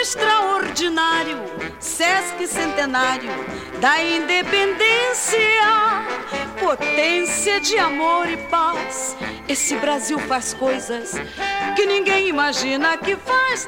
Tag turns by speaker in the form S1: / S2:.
S1: extraordinário, Sesc Centenário da Independência, potência de amor e paz. Esse Brasil faz coisas que ninguém imagina que faz.